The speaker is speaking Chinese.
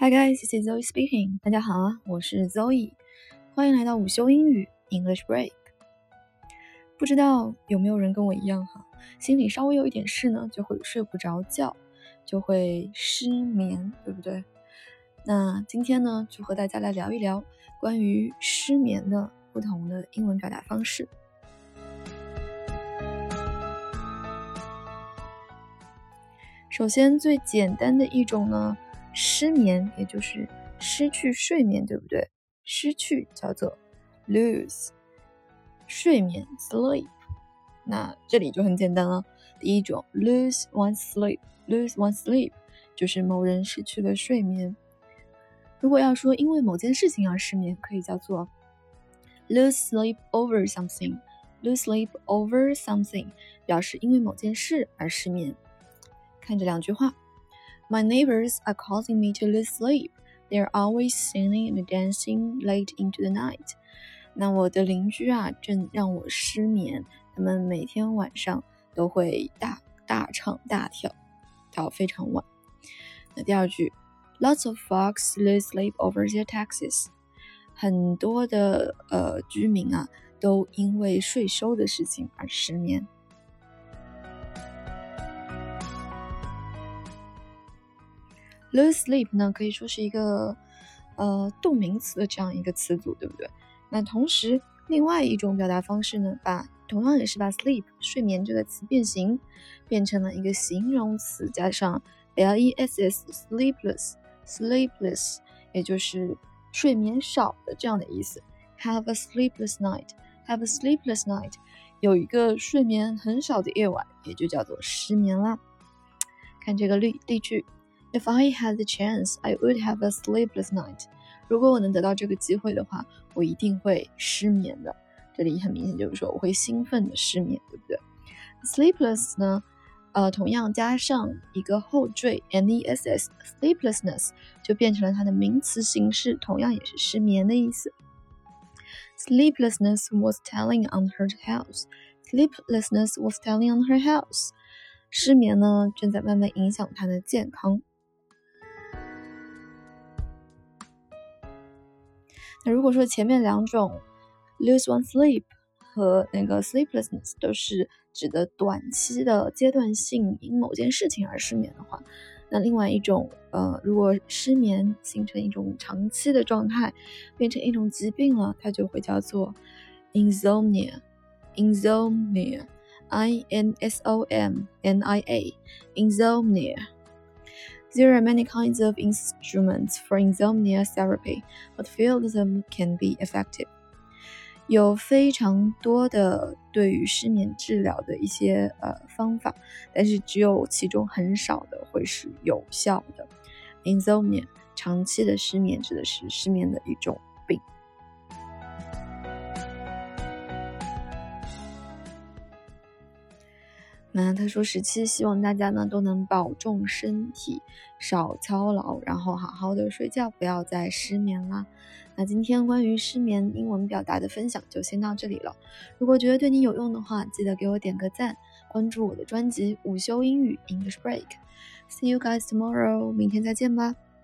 Hi guys, this is Zoe speaking. 大家好啊，我是 Zoe， 欢迎来到午休英语 English Break。不知道有没有人跟我一样哈，心里稍微有一点事呢，就会睡不着觉，就会失眠，对不对？那今天呢，就和大家来聊一聊关于失眠的不同的英文表达方式。首先最简单的一种呢，失眠也就是失去睡眠，对不对？失去叫做 lose， 睡眠 sleep。 那这里就很简单了，第一种 lose one's sleep 就是某人失去了睡眠。如果要说因为某件事情而失眠，可以叫做 lose sleep over something， lose sleep over something 表示因为某件事而失眠。看这两句话， My neighbors are causing me to lose sleep. They are always singing and dancing late into the night. 那我的邻居啊，正让我失眠。他们每天晚上都会大唱大跳，到非常晚。那第二句 ，Lots of folks lose sleep over their taxes. 很多的居民啊，都因为税收的事情而失眠。Lose sleep 呢，可以说是一个动名词的这样一个词组，对不对？那同时另外一种表达方式呢，同样也是把 sleep 睡眠这个词变形，变成了一个形容词加上 less sleepless， 也就是睡眠少的这样的意思。Have a sleepless night， 有一个睡眠很少的夜晚，也就叫做失眠啦。看这个例句，If I had the chance, I would have a sleepless night. 如果我能得到这个机会的话，我一定会失眠的。这里很明显就是说我会兴奋的失眠，对不对？ Sleepless 呢，同样加上一个后缀 ness sleeplessness 就变成了它的名词形式，同样也是失眠的意思。Sleeplessness was telling on her health. 失眠呢，正在慢慢影响她的健康。那如果说前面两种 lose one's sleep 和那个 sleeplessness 都是指的短期的阶段性因某件事情而失眠的话，那另外一种如果失眠形成一种长期的状态，变成一种疾病了，它就会叫做 insomnia insomnia There are many kinds of instruments for insomnia therapy, but few of them can be effective. 有非常多的对于失眠治疗的一些方法，但是只有其中很少的会是有效的。Insomnia 长期的失眠指的是失眠的一种病。那特殊时期，希望大家呢都能保重身体，少操劳，然后好好的睡觉，不要再失眠啦。那今天关于失眠英文表达的分享就先到这里了。如果觉得对你有用的话，记得给我点个赞，关注我的专辑午休英语 English Break。See you guys tomorrow， 明天再见吧。